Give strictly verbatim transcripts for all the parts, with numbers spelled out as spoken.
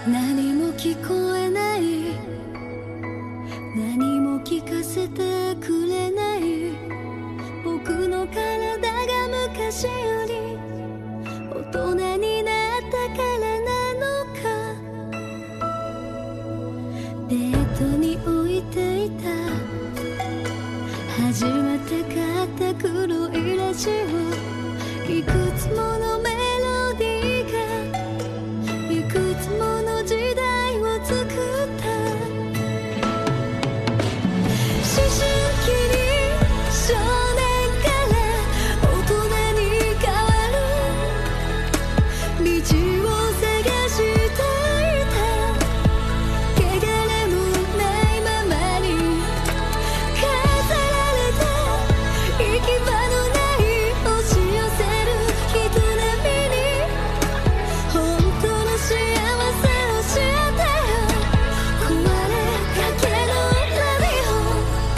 何も聞こえない、何も聞かせてくれない、僕の体が昔より大人になったからなのか。ベッドに置いていた初めて買った黒いラジオ、いくつものメロディーがいくつもの時代を作った。思春期に少年から大人に変わる道を探していた。汚れもないままに飾られた行き場のない押し寄せる人並みに本当の幸せを教えてよ。壊れかけのラディオ、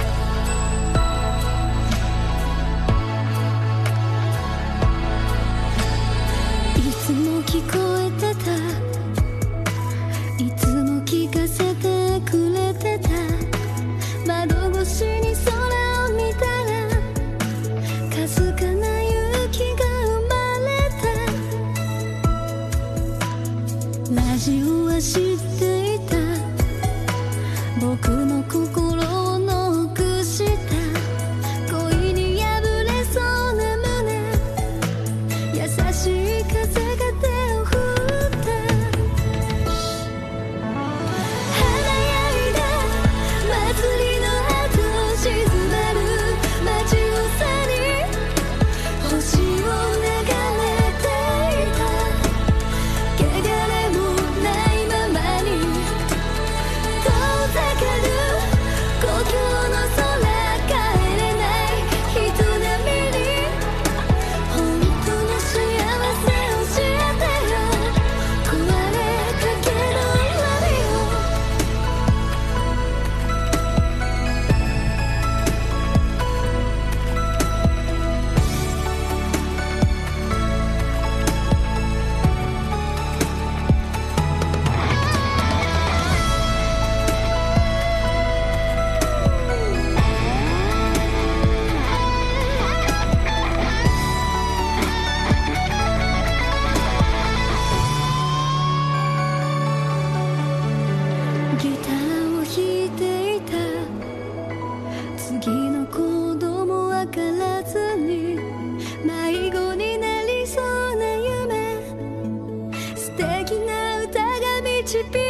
いつも聞こえてた、いつも聞かせてくれてた。窓越しに空を見たらかすかな勇気が生まれた。ラジオは知っていた、僕の心をノックした。恋に破れそうな胸、優しい風が手を振った。華やいだ祭りの後静まる街をさに星を眺めていた。汚れもないままに遠ざかる故郷の空、帰れない人並みに本当の幸せ教えてよ。壊れかけのラディオ、ギターを弾いていた。次のコードもわからずに迷子になりそうな夢、素敵な歌が導い